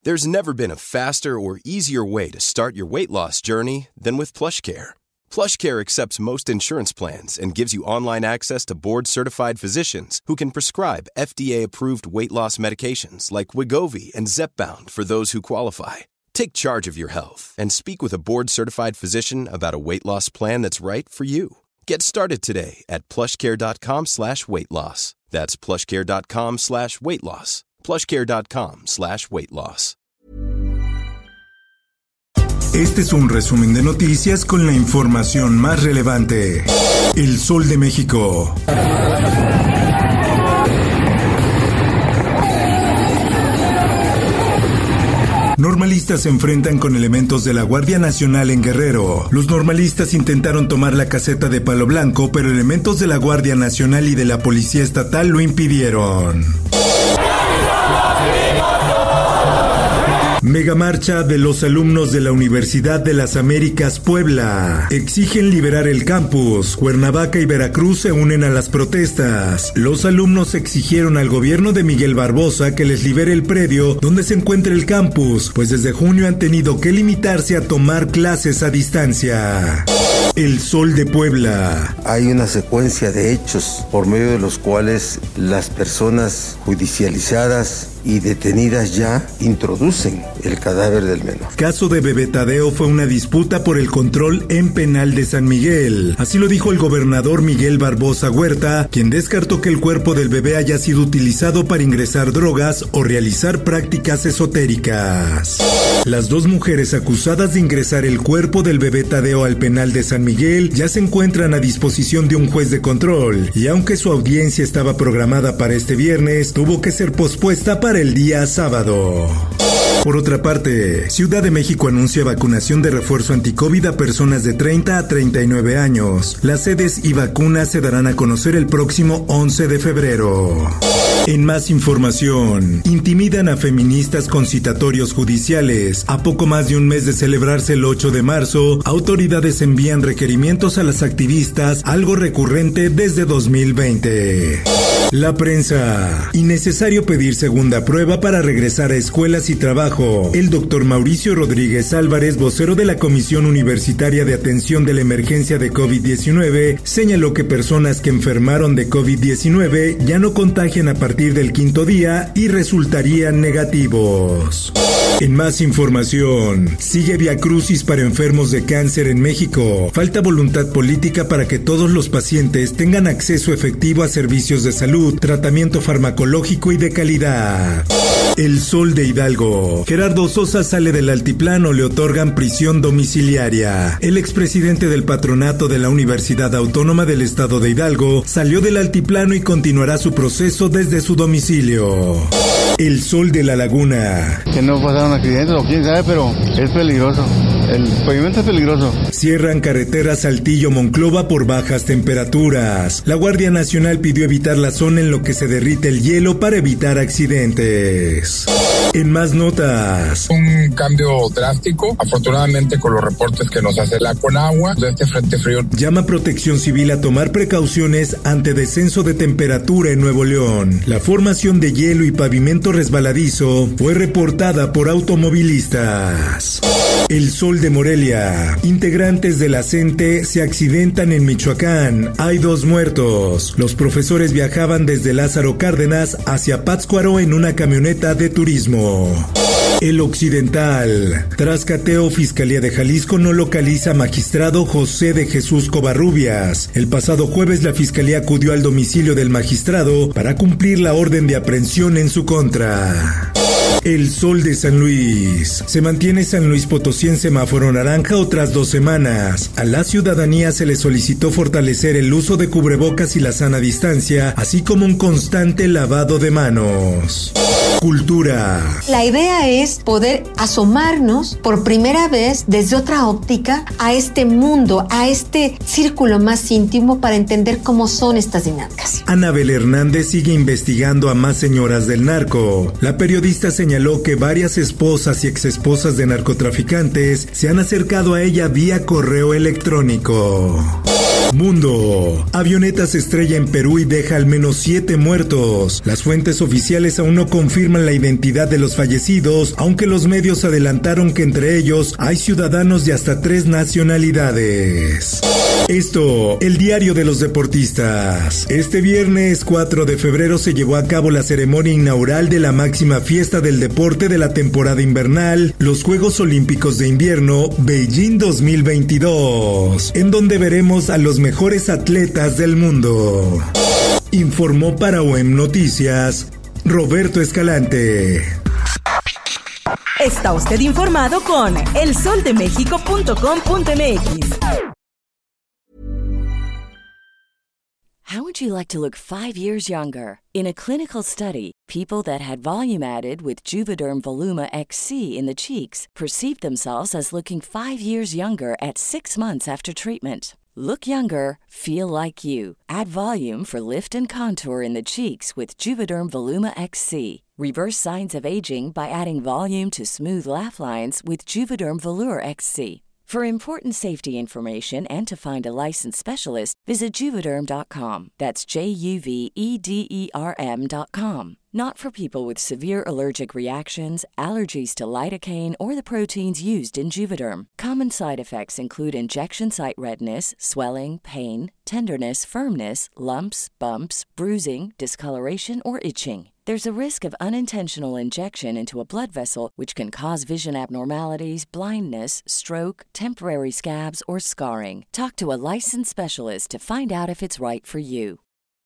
There's never been a faster or easier way to start your weight loss journey than with PlushCare. PlushCare accepts most insurance plans and gives you online access to board-certified physicians who can prescribe FDA-approved weight loss medications like Wegovy and Zepbound for those who qualify. Take charge of your health and speak with a board-certified physician about a weight loss plan that's right for you. Get started today at plushcare.com/weight loss. That's plushcare.com/weight loss. plushcare.com/weight loss. Este es un resumen de noticias con la información más relevante. El Sol de México. Normalistas se enfrentan con elementos de la Guardia Nacional en Guerrero. Los normalistas intentaron tomar la caseta de Palo Blanco, pero elementos de la Guardia Nacional y de la Policía Estatal lo impidieron. Megamarcha de los alumnos de la Universidad de las Américas Puebla. Exigen liberar el campus. Cuernavaca y Veracruz se unen a las protestas. Los alumnos exigieron al gobierno de Miguel Barbosa que les libere el predio donde se encuentra el campus, pues desde junio han tenido que limitarse a tomar clases a distancia. El Sol de Puebla. Hay una secuencia de hechos por medio de los cuales las personas judicializadas y detenidas ya introducen el cadáver del menor. Caso de Bebé Tadeo fue una disputa por el control en penal de San Miguel. Así lo dijo el gobernador Miguel Barbosa Huerta, quien descartó que el cuerpo del bebé haya sido utilizado para ingresar drogas o realizar prácticas esotéricas. Las dos mujeres acusadas de ingresar el cuerpo del bebé Tadeo al penal de San Miguel ya se encuentran a disposición de un juez de control, y aunque su audiencia estaba programada para este viernes, tuvo que ser pospuesta para el día sábado. Por otra parte, Ciudad de México anuncia vacunación de refuerzo anti-COVID a personas de 30 a 39 años. Las sedes y vacunas se darán a conocer el próximo 11 de febrero. En más información, intimidan a feministas con citatorios judiciales. A poco más de un mes de celebrarse el 8 de marzo, autoridades envían requerimientos a las activistas, algo recurrente desde 2020. La prensa. Innecesario pedir segunda prueba para regresar a escuelas y trabajo. El doctor Mauricio Rodríguez Álvarez, vocero de la Comisión Universitaria de Atención de la Emergencia de COVID-19, señaló que personas que enfermaron de COVID-19 ya no contagian a partir del quinto día y resultarían negativos. En más información, sigue viacrucis para enfermos de cáncer en México. Falta voluntad política para que todos los pacientes tengan acceso efectivo a servicios de salud, tratamiento farmacológico y de calidad. El Sol de Hidalgo. Gerardo Sosa sale del altiplano, le otorgan prisión domiciliaria. El expresidente del patronato de la Universidad Autónoma del Estado de Hidalgo salió del altiplano y continuará su proceso desde su domicilio. El Sol de la Laguna. Que no pasaron accidentes o quién sabe, pero es peligroso. El pavimento es peligroso. Cierran carretera Saltillo-Monclova por bajas temperaturas. La Guardia Nacional pidió evitar la zona en lo que se derrite el hielo para evitar accidentes. En más notas. Un cambio drástico, afortunadamente con los reportes que nos hace la Conagua de este frente frío. Llama Protección Civil a tomar precauciones ante descenso de temperatura en Nuevo León. La formación de hielo y pavimento resbaladizo fue reportada por automovilistas. El Sol de Morelia. Integrantes de la CENTE se accidentan en Michoacán. Hay 2 muertos. Los profesores viajaban desde Lázaro Cárdenas hacia Pátzcuaro en una camioneta de turismo. El Occidental. Tras cateo, Fiscalía de Jalisco no localiza a magistrado José de Jesús Covarrubias. El pasado jueves la Fiscalía acudió al domicilio del magistrado para cumplir la orden de aprehensión en su contra. El Sol de San Luis. Se mantiene San Luis Potosí en semáforo naranja otras 2 semanas. A la ciudadanía se le solicitó fortalecer el uso de cubrebocas y la sana distancia, así como un constante lavado de manos. Cultura. La idea es poder asomarnos por primera vez desde otra óptica a este mundo, a este círculo más íntimo para entender cómo son estas dinámicas. Anabel Hernández sigue investigando a más señoras del narco. La periodista señaló que varias esposas y exesposas de narcotraficantes se han acercado a ella vía correo electrónico. Mundo. Avioneta se estrella en Perú y deja al menos 7 muertos. Las fuentes oficiales aún no confirman la identidad de los fallecidos, aunque los medios adelantaron que entre ellos hay ciudadanos de hasta 3 nacionalidades. Esto, el diario de los deportistas. Este viernes 4 de febrero se llevó a cabo la ceremonia inaugural de la máxima fiesta del deporte de la temporada invernal, los Juegos Olímpicos de Invierno Beijing 2022, en donde veremos a los mejores atletas del mundo. Informó para OEM Noticias, Roberto Escalante. Está usted informado con elsoldemexico.com.mx. How would you like to look 5 years younger? In a clinical study, people that had volume added with Juvederm Voluma XC in the cheeks perceived themselves as looking 5 years younger at 6 months after treatment. Look younger, feel like you. Add volume for lift and contour in the cheeks with Juvederm Voluma XC. Reverse signs of aging by adding volume to smooth laugh lines with Juvederm Volure XC. For important safety information and to find a licensed specialist, visit Juvederm.com. That's JUVEDERM.com. Not for people with severe allergic reactions, allergies to lidocaine, or the proteins used in Juvederm. Common side effects include injection site redness, swelling, pain, tenderness, firmness, lumps, bumps, bruising, discoloration, or itching. There's a risk of unintentional injection into a blood vessel, which can cause vision abnormalities, blindness, stroke, temporary scabs, or scarring. Talk to a licensed specialist to find out if it's right for you.